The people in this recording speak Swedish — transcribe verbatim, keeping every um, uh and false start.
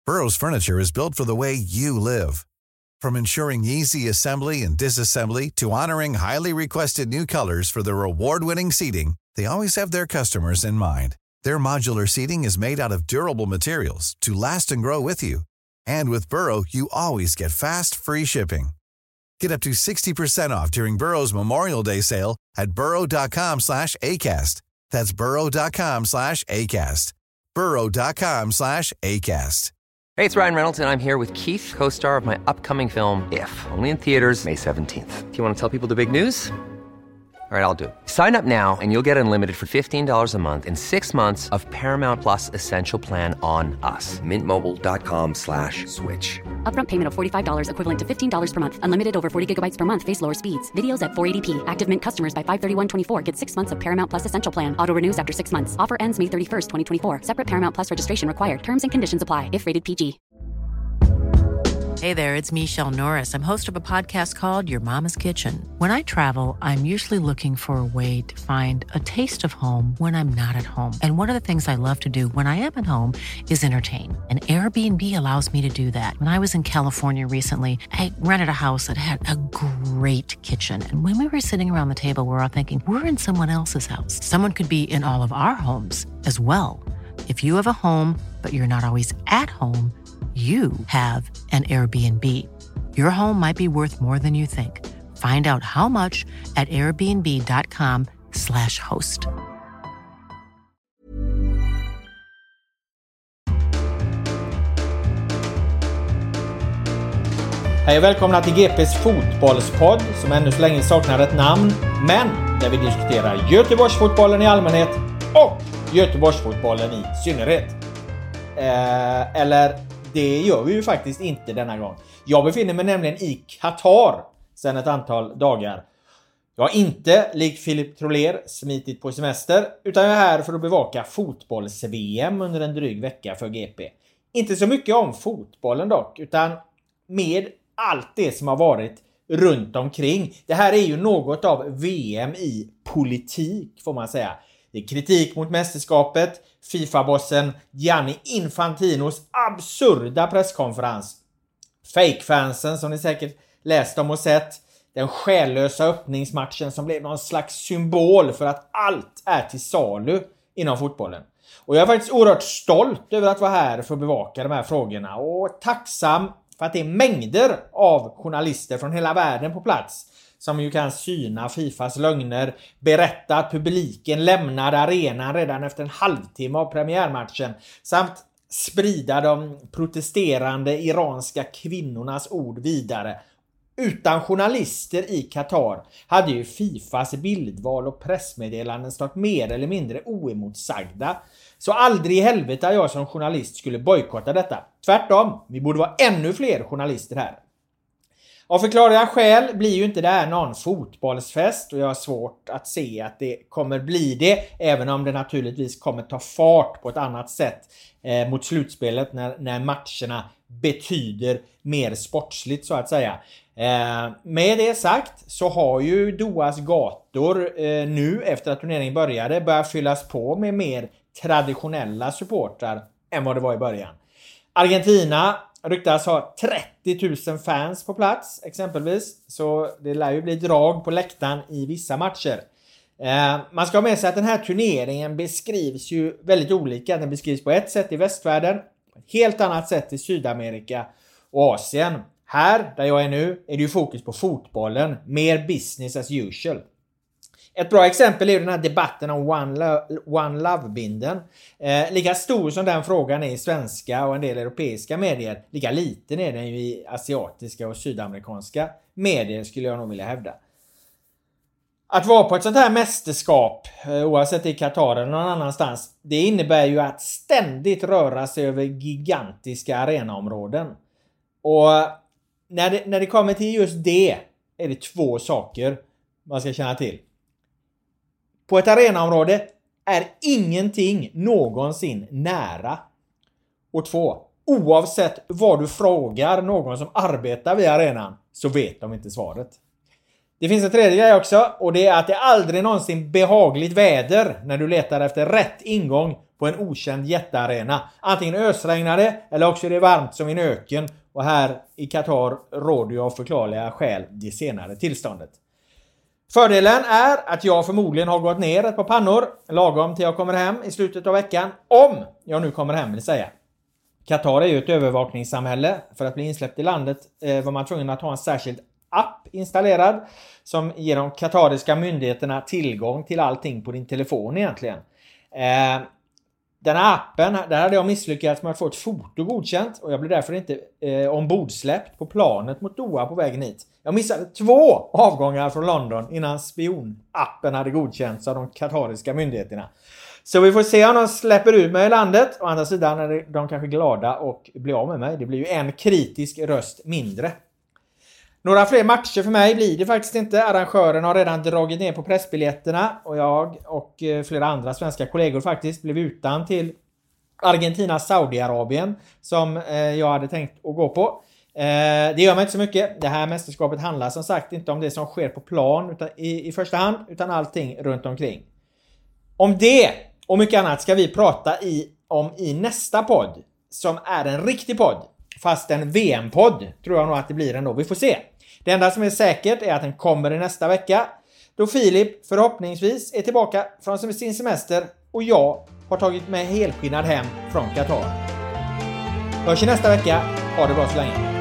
Burrow's furniture is built for the way you live. From ensuring easy assembly and disassembly to honoring highly requested new colors for their award-winning seating, they always have their customers in mind. Their modular seating is made out of durable materials to last and grow with you. And with Burrow, you always get fast, free shipping. Get up to sixty percent off during Burrow's Memorial Day sale at burrow.com slash ACAST. That's burrow.com slash ACAST. burrow.com slash ACAST. Hey, it's Ryan Reynolds, and I'm here with Keith, co-star of my upcoming film, If, only in theaters May seventeenth. Do you want to tell people the big news? All right, I'll do it. Sign up now and you'll get unlimited for fifteen dollars a month and six months of Paramount Plus Essential Plan on us. Mintmobile.com slash switch. Upfront payment of forty-five dollars equivalent to fifteen dollars per month. Unlimited over forty gigabytes per month. Face lower speeds. Videos at four eighty p. Active Mint customers by five thirty-one twenty-four get six months of Paramount Plus Essential Plan. Auto renews after six months. Offer ends May thirty-first, twenty twenty-four. Separate Paramount Plus registration required. Terms and conditions apply if rated P G. Hey there, it's Michelle Norris. I'm host of a podcast called Your Mama's Kitchen. When I travel, I'm usually looking for a way to find a taste of home when I'm not at home. And one of the things I love to do when I am at home is entertain. And Airbnb allows me to do that. When I was in California recently, I rented a house that had a great kitchen. And when we were sitting around the table, we were all thinking, we're in someone else's house. Someone could be in all of our homes as well. If you have a home, but you're not always at home, you have an Airbnb. Your home might be worth more than you think. Find out how much at airbnb.com slash host. Hej och välkomna till G P:s fotbollspodd som ännu så länge saknar ett namn, men där vi diskuterar Göteborgsfotbollen i allmänhet och Göteborgsfotbollen i synnerhet. Eh, eller... Det gör vi ju faktiskt inte denna gång. Jag befinner mig nämligen i Qatar sedan ett antal dagar. Jag har inte, likt Filip Troler, smitit på semester, utan jag är här för att bevaka fotbolls-V M under en dryg vecka för G P. Inte så mycket om fotbollen dock, utan med allt det som har varit runt omkring. Det här är ju något av V M i politik, får man säga. Det är kritik mot mästerskapet, FIFA-bossen Gianni Infantinos absurda presskonferens, fake-fansen som ni säkert läst om och sett, den själlösa öppningsmatchen som blev någon slags symbol för att allt är till salu inom fotbollen. Och jag är faktiskt oerhört stolt över att vara här för att bevaka de här frågorna och tacksam för att det är mängder av journalister från hela världen på plats som ju kan syna FIFAs lögner, berätta att publiken lämnade arenan redan efter en halvtimme av premiärmatchen samt sprida de protesterande iranska kvinnornas ord vidare. Utan journalister i Qatar hade ju FIFAs bildval och pressmeddelanden stått mer eller mindre oemotsagda. Så aldrig i helvete jag som journalist skulle bojkotta detta. Tvärtom, vi borde vara ännu fler journalister här. Av förklarliga skäl blir ju inte det här någon fotbollsfest och jag har svårt att se att det kommer bli det, även om det naturligtvis kommer ta fart på ett annat sätt eh, mot slutspelet när, när matcherna betyder mer sportsligt så att säga. Eh, med det sagt så har ju Dohas gator eh, nu efter att turneringen började börjat fyllas på med mer traditionella supportrar än vad det var i början. Argentina ryktas ha trettio tusen fans på plats exempelvis, så det lär ju bli drag på läktaren i vissa matcher. Eh, man ska ha med sig att den här turneringen beskrivs ju väldigt olika. Den beskrivs på ett sätt i västvärlden, på ett helt annat sätt i Sydamerika och Asien. Här, där jag är nu, är det ju fokus på fotbollen, mer business as usual. Ett bra exempel är den här debatten om One, Lo- One Love-binden. Eh, lika stor som den frågan är i svenska och en del europeiska medier, lika liten är den ju i asiatiska och sydamerikanska medier skulle jag nog vilja hävda. Att vara på ett sånt här mästerskap, eh, oavsett i Qatar eller någon annanstans, det innebär ju att ständigt röra sig över gigantiska arenaområden. Och när det, när det kommer till just det är det två saker man ska känna till. På ett arenaområde är ingenting någonsin nära. Och två, oavsett vad du frågar någon som arbetar vid arenan så vet de inte svaret. Det finns en tredje grej också, och det är att det aldrig någonsin behagligt väder när du letar efter rätt ingång på en okänd jättearena. Antingen ösregnar det eller också är det varmt som i en öken. Och här i Qatar råder jag av förklarliga skäl det senare tillståndet. Fördelen är att jag förmodligen har gått ner ett par pannor lagom till jag kommer hem i slutet av veckan. Om jag nu kommer hem vill säga. Qatar är ju ett övervakningssamhälle. För att bli insläppt i landet eh, var man tvungen att ha en särskild app installerad som ger de qatariska myndigheterna tillgång till allting på din telefon egentligen. Eh, den här appen, där hade jag misslyckats med att få ett foto godkänt och jag blev därför inte eh, ombordsläppt på planet mot Doha på vägen hit. Jag missade två avgångar från London innan spionappen hade godkänts av de qatariska myndigheterna. Så vi får se om de släpper ut mig i landet. Å andra sidan är de kanske glada och blir av med mig. Det blir ju en kritisk röst mindre. Några fler matcher för mig blir det faktiskt inte. Arrangören har redan dragit ner på pressbiljetterna. Och jag och flera andra svenska kollegor faktiskt blev utan till Argentina Saudiarabien. Som jag hade tänkt att gå på. Det gör mig inte så mycket. Det här mästerskapet handlar som sagt inte om det som sker på plan utan i, i första hand. Utan allting runt omkring. Om det och mycket annat ska vi prata i, om i nästa podd. Som är en riktig podd. Fast en V M-podd tror jag nog att det blir ändå. Vi får se. Det enda som är säkert är att den kommer i nästa vecka. Då Filip förhoppningsvis är tillbaka från sin semester. Och jag har tagit mig helskinnad hem från Qatar. Hörs i nästa vecka. Ha det bra så länge.